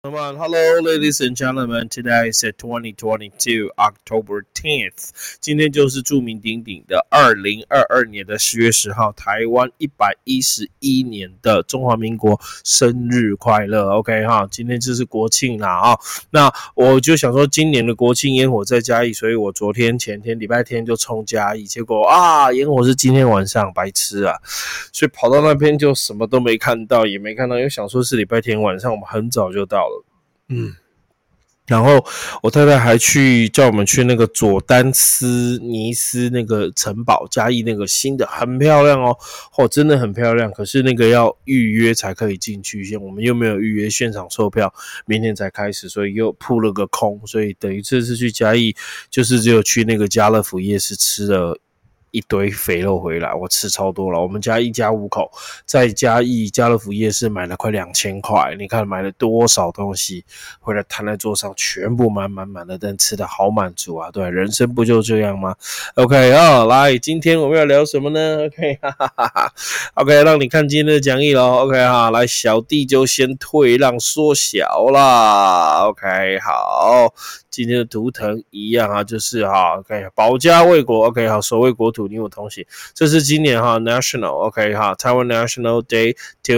Come on, hello, ladies and gentlemen. Today is 2022 October 10th. 今天就是著名鼎鼎的2022年的10月10号，台湾111年的中华民国生日快乐。OK 哈，今天就是国庆啦啊。那我就想说，今年的国庆烟火在嘉义，所以我昨天、前天、礼拜天就冲嘉义，结果烟火是今天晚上，白痴啊！所以跑到那边就什么都没看到，也没看到，因为想说是礼拜天晚上，我们很早就到了。然后我太太还叫我们去那个佐丹斯尼斯那个城堡，嘉义那个新的，很漂亮哦，真的很漂亮。可是那个要预约才可以进去，我们又没有预约，现场售票，明天才开始，所以又扑了个空。所以等于这次去嘉义，就是只有去那个家乐福夜市吃了一堆肥肉回来，我吃超多了。我们家一家5口，在嘉义家乐福夜市买了快2000块，你看买了多少东西回来摊在桌上，全部满的，但吃的好满足啊！对，人生不就这样吗 ？OK 来，今天我们要聊什么呢 ？OK， 哈哈哈哈 ，OK， 让你看今天的讲义咯 OK 哈，来，小弟就先退让缩小啦。OK， 好。今天的图腾一样啊，就是OK， 保家卫国 ，OK， 好，守卫国土，你我同行。这是今年National OK Taiwan National Day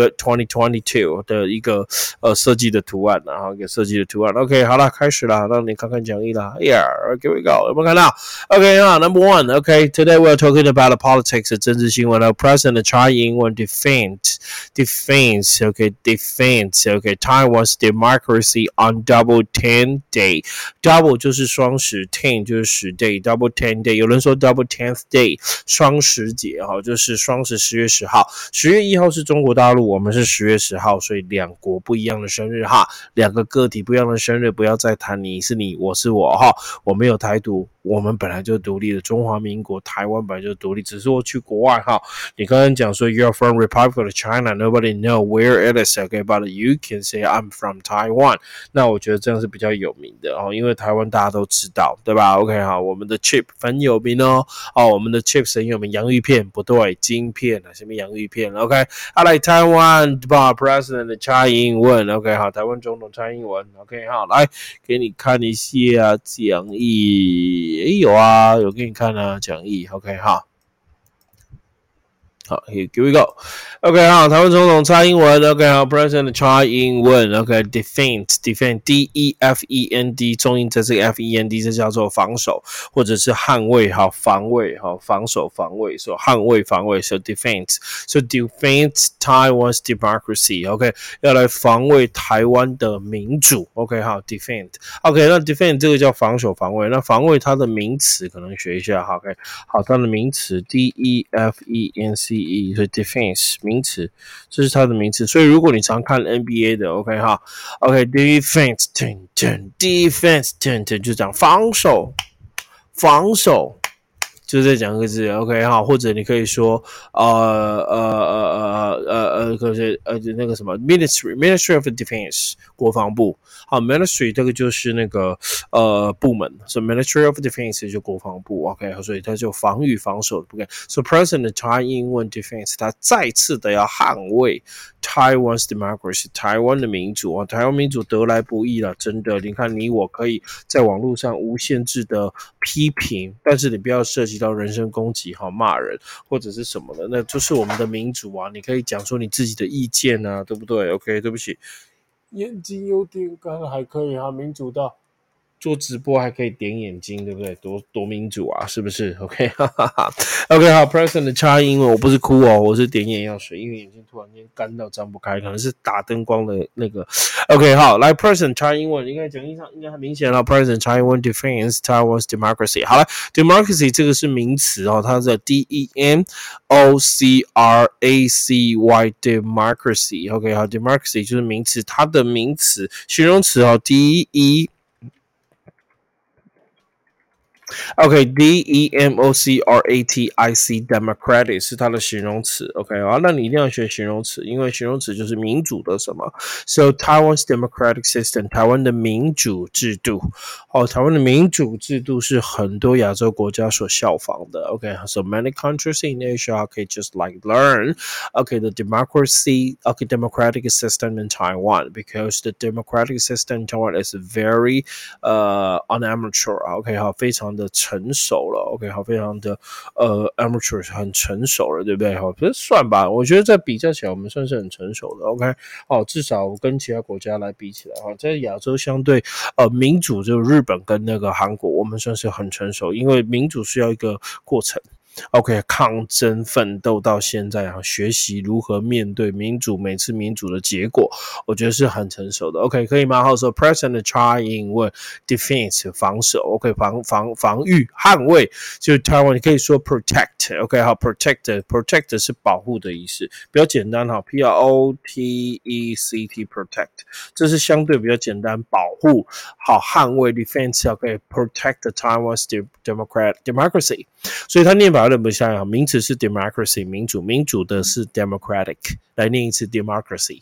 2022的一个设计的图案，然后一个设计的图案。OK， 好了，开始了，让你看看讲义啦。Here，here we go， 有没有看到 ？OK Number one OK，Today we're talking about the politics 政治新闻。President Tsai Ing-wen defends OK Taiwan's democracy on Double 10 Day。Double 就是双十 ，10 就是10 day，Double 10 day。有人说 Double 10th day， 双十节就是双十10月10号，10月1号是中国大陆，我们是10月10号，所以两国不一样的生日哈，两个个体不一样的生日，不要再谈你是你，我是我哈，我没有台独。我们本来就独立的，中华民国台湾本来就独立，只是我去国外哈。你刚刚讲说 You're from Republic of China, nobody know where it is, okay, but you can say I'm from Taiwan。那我觉得这样是比较有名的因为台湾大家都知道，对吧 ？OK 好，我们的 chip 很有名我们的 chips 很有名，洋芋片不对，晶片什么洋芋片 ？OK，I like Taiwan President 蔡英文 ，OK 好，台湾总统蔡英文 ，OK 好，来给你看一下讲义。有啊，有给你看啊，讲义 ，OK 哈。好 ，Here we go。OK 好，台湾总统蔡英文 ，OK 好 ，President 蔡英文 ，OK defend D-E-F-E-N-D， 重音在这个 F-E-N-D， 这叫做防守或者是捍卫，防卫，防守防卫，所以捍卫防卫 ，so defense Taiwan's democracy，OK， 要来防卫台湾的民主 ，OK 好 defend，OK 那 defend 这个叫防守防卫，那防卫它的名词可能学一下 ，OK 好，它的名词 D-E-F-E-N-C。所以 defense 名词，这是它的名词。所以如果你常看 NBA 的 ，OK 哈 ，OK defense defense 就讲防守，就在讲个字 ，OK 哈，或者你可以说那个什么 Ministry of Defense 国防部，好 Ministry 这个就是那个部门，所以 Ministry of Defense 就国防部 ，OK， 所以它就防御防守的部分。So President Tsai Ing-wen defense 他再次的要捍卫 Taiwan's democracy 台湾的民主台湾民主得来不易了，真的，你看你我可以在网络上无限制的批评，但是你不要涉及到人身攻击骂人或者是什么的，那就是我们的民主你可以讲出你自己的意见啊，对不对 ？OK， 对不起，眼睛有点干，还可以民主到做直播还可以点眼睛，对不对？多民主啊，是不是 ？OK， 哈哈哈。OK， 好 ，President 插英文，我不是哭我是点眼药水，因为眼睛突然间干到张不开，可能是打灯光的那个。OK， 好，来 President 插英文，应该讲义上应该很明显了。President 插英文 defends Taiwan's democracy。好了 ，democracy 这个是名词它是 D-E-M-O-C-R-A-C-Y democracy。OK， 好 ，democracy 就是名词，它的名词形容词D-E OK，democratic democratic 是它的形容词 OK 好，那你一定要学形容词，因为形容词就是民主的什么 So Taiwan's democratic system 台湾的民主制度台湾的民主制度是很多亚洲国家所效仿的 OK So many countries in Asia okay just like learn okay the democratic system in Taiwan because the democratic system in Taiwan is very unamateur OK 好非常的成熟了 OK 好非常的amateur 很成熟了对不对好可是算吧我觉得在比较起来我们算是很成熟的 OK 至少跟其他国家来比起来在亚洲相对民主就日本跟那个韩国我们算是很成熟因为民主需要一个过程OK 抗争奋斗到现在学习如何面对民主每次民主的结果我觉得是很成熟的 OK 可以吗好说 President Tsai Ing-wen defense 防守 OK 防御捍卫就台湾你可以说 protect OK 好 protect 是保护的意思比较简单P-R-O-T-E-C-T protect 这是相对比较简单保护好捍卫 defense OK protect the Taiwan's democracy 所以它念法有点不像名词是 democracy 民主的是 democratic 来念一次 democracy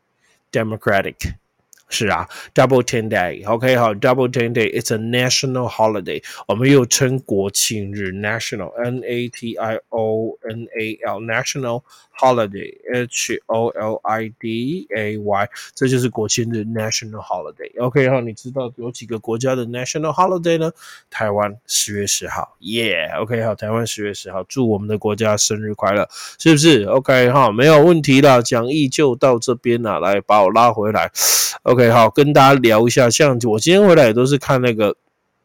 是啊 Double 10 Day OK 好 Double 10 Day It's a national holiday 我们又称国庆日 National N-A-T-I-O-N-A-L National Holiday H-O-L-I-D-A-Y 这就是国庆日 National Holiday OK 好你知道有几个国家的 National Holiday 呢台湾10月10号 Yeah OK 好台湾10月10号祝我们的国家生日快乐是不是 OK 好没有问题啦讲义就到这边啦来把我拉回来OK 好跟大家聊一下像我今天回来也都是看那个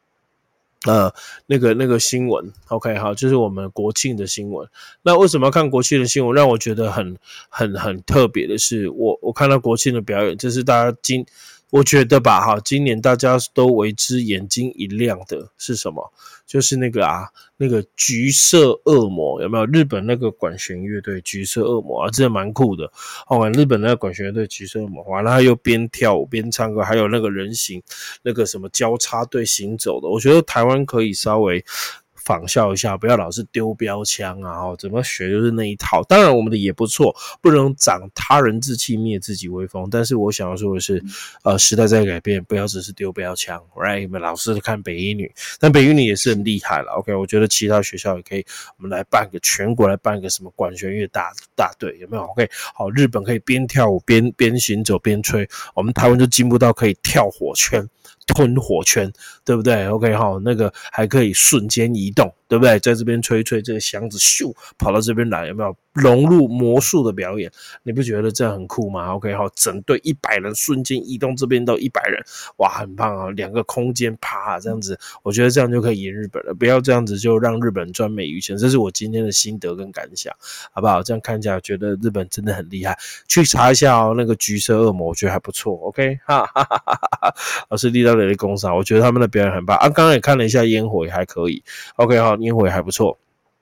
新闻 OK 好就是我们国庆的新闻那为什么要看国庆的新闻让我觉得很特别的是我看到国庆的表演这是大家我觉得吧今年大家都为之眼睛一亮的是什么就是那个橘色恶魔有没有日本那个管弦乐队橘色恶魔真的蛮酷的日本那个管弦乐队橘色恶魔完了他又边跳舞边唱歌还有那个人形那个什么交叉队行走的我觉得台湾可以稍微仿效一下不要老是丢标枪怎么学就是那一套当然我们的也不错不能长他人志气灭自己威风但是我想要说的是时代在改变不要只是丢标枪 right 你们老是看北一女但北一女也是很厉害了 OK 我觉得其他学校也可以我们来办个全国来办个什么管弦乐大队有没有 OK 好日本可以边跳舞边行走边吹我们台湾就进步到可以跳火圈吞火圈对不对 OK 那个还可以瞬间移动对不对在这边吹这个箱子咻跑到这边来有没有融入魔术的表演你不觉得这很酷吗 OK 整队100人瞬间移动这边到100人哇很棒两个空间啪这样子我觉得这样就可以赢日本了不要这样子就让日本赚美余钱这是我今天的心得跟感想好不好这样看起来觉得日本真的很厉害去查一下那个橘色恶魔我觉得还不错 OK 哈哈哈哈老师立到的工商我觉得他们的表演很棒刚刚也看了一下烟火也还可以 OK 烟火也还不错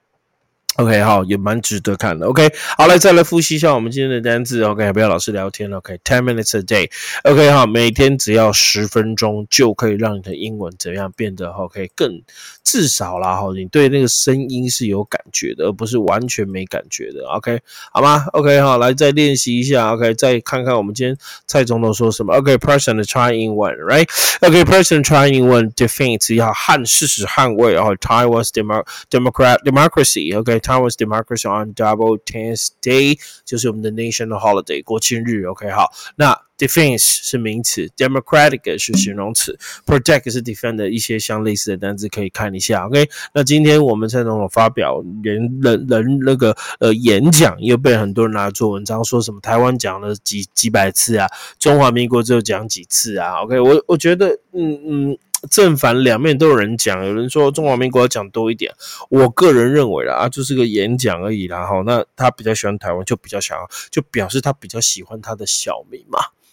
OK 好也蛮值得看的 OK 好来再来复习一下我们今天的单字 OK 不要老是聊天 OK 10 minutes a day OK 好每天只要10分钟就可以让你的英文怎样变得 OK 更至少啦你对那个声音是有感觉的而不是完全没感觉的 OK 好吗 OK 好来再练习一下 OK 再看看我们今天蔡总统说什么 OK President Tsai Ing-wen right OK President Tsai Ing-wen defense 要事实捍卫Taiwan's democracy OK Taiwan's democracy on Double 10th Day 就是我们的 national holiday 国庆日 OK 好那defense 是名词 democratic 是形容词 protect 是 defend 的一些相类似的单字可以看一下 OK 那今天我们蔡总统发表人那个演讲又被很多人拿来做文章说什么台湾讲了几百次中华民国只有讲几次OK 我觉得正反两面都有人讲有人说中华民国要讲多一点我个人认为啦就是个演讲而已啦那他比较喜欢台湾就比较想要就表示他比较喜欢他的小民嘛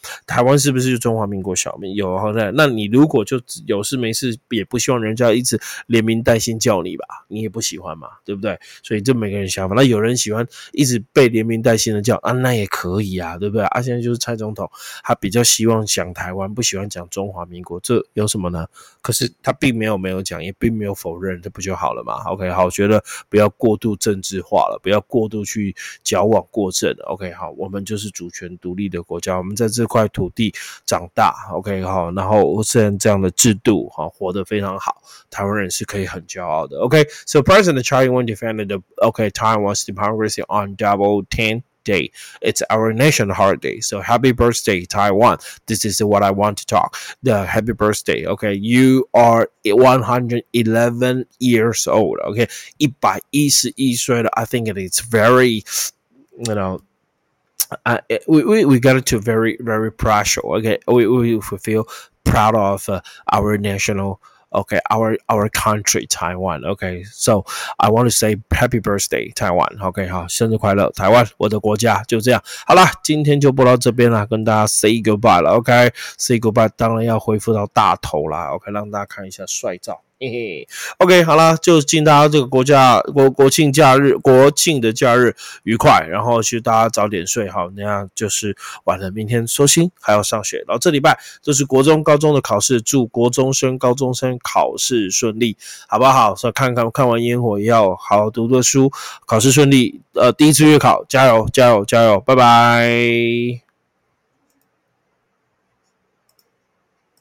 台湾是不是就中华民国小民？有，那你如果就有事没事，也不希望人家一直连名带姓叫你吧，你也不喜欢嘛，对不对？所以这每个人想法，那有人喜欢一直被连名带姓的叫啊，那也可以啊，对不对？啊，现在就是蔡总统，他比较希望讲台湾，不喜欢讲中华民国，这有什么呢？可是他并没有讲，也并没有否认，这不就好了嘛 ？OK， 好，我觉得不要过度政治化了，不要过度去矫枉过正。OK， 好，我们就是主权独立的国家，我们在这块土地长大。OK， 好，然后这样的制度，好，活得非常好，台湾人是可以很骄傲的。OK，so President Tsai Ing-wen defended Taiwan's democracy on Double 10. Day. It's our national holiday. So happy birthday, Taiwan. This is what I want to talk. The happy birthday. Okay, you are 111 years old. Okay, 111岁了. I think it is very, we got it to very, very proud. Okay, we feel proud of our national. Okay, our country, Taiwan. Okay, so I want to say happy birthday, Taiwan. OK, 好，生日快乐，台湾，我的国家，就这样。好啦，今天就播到这边啦，跟大家 say goodbye 了。OK，say goodbye， 当然要恢复到大头啦。OK， 让大家看一下帅照。嘿嘿 ，OK， 好啦，就祝大家这个国庆假日、国庆的假日愉快，然后去大家早点睡好，那样就是晚了，明天收心还要上学。然后这礼拜就是国中、高中的考试，祝国中生、高中生考试顺利，好不好？所以看完烟火也要好好读书，考试顺利。第一次月考，加油，拜拜。